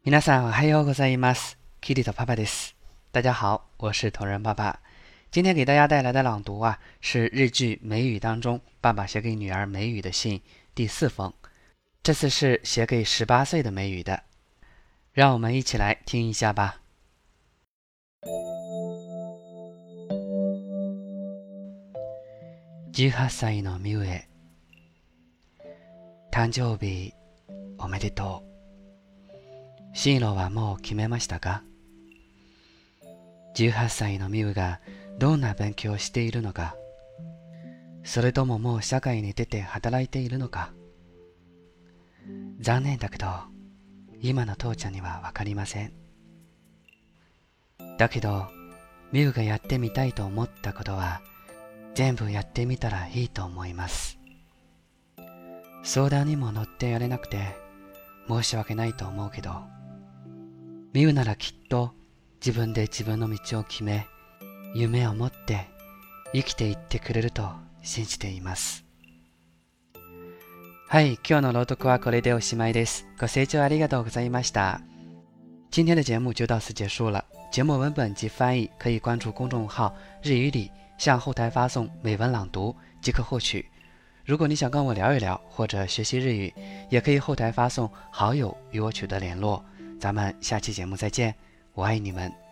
皆さんおはようございます。キリトパパです。大家好，我是同人爸爸。今天给大家带来的朗读是日剧《美语》当中爸爸写给女儿美语的信第4封。这次是写给18岁的美语的，让我们一起来听一下吧。18歳のミウへ、誕生日おめでとう。進路はもう決めましたか？18歳のミウがどんな勉強をしているのか、それとももう社会に出て働いているのか。残念だけど、今の父ちゃんにはわかりません。だけど、ミウがやってみたいと思ったことは、全部やってみたらいいと思います。相談にも乗ってやれなくて、申し訳ないと思うけど、ミウならきっと自分で自分の道を決め、夢を持って生きていってくれると信じています。はい、今日の朗読はこれでおしまいです。ご清聴ありがとうございました。今天的节目就到此结束了。节目文本及翻译可以关注公众号日语里，向后台发送美文朗读即可获取。如果你想跟我聊一聊或者学习日语，也可以后台发送好友与我取得联络。咱们下期节目再见，我爱你们。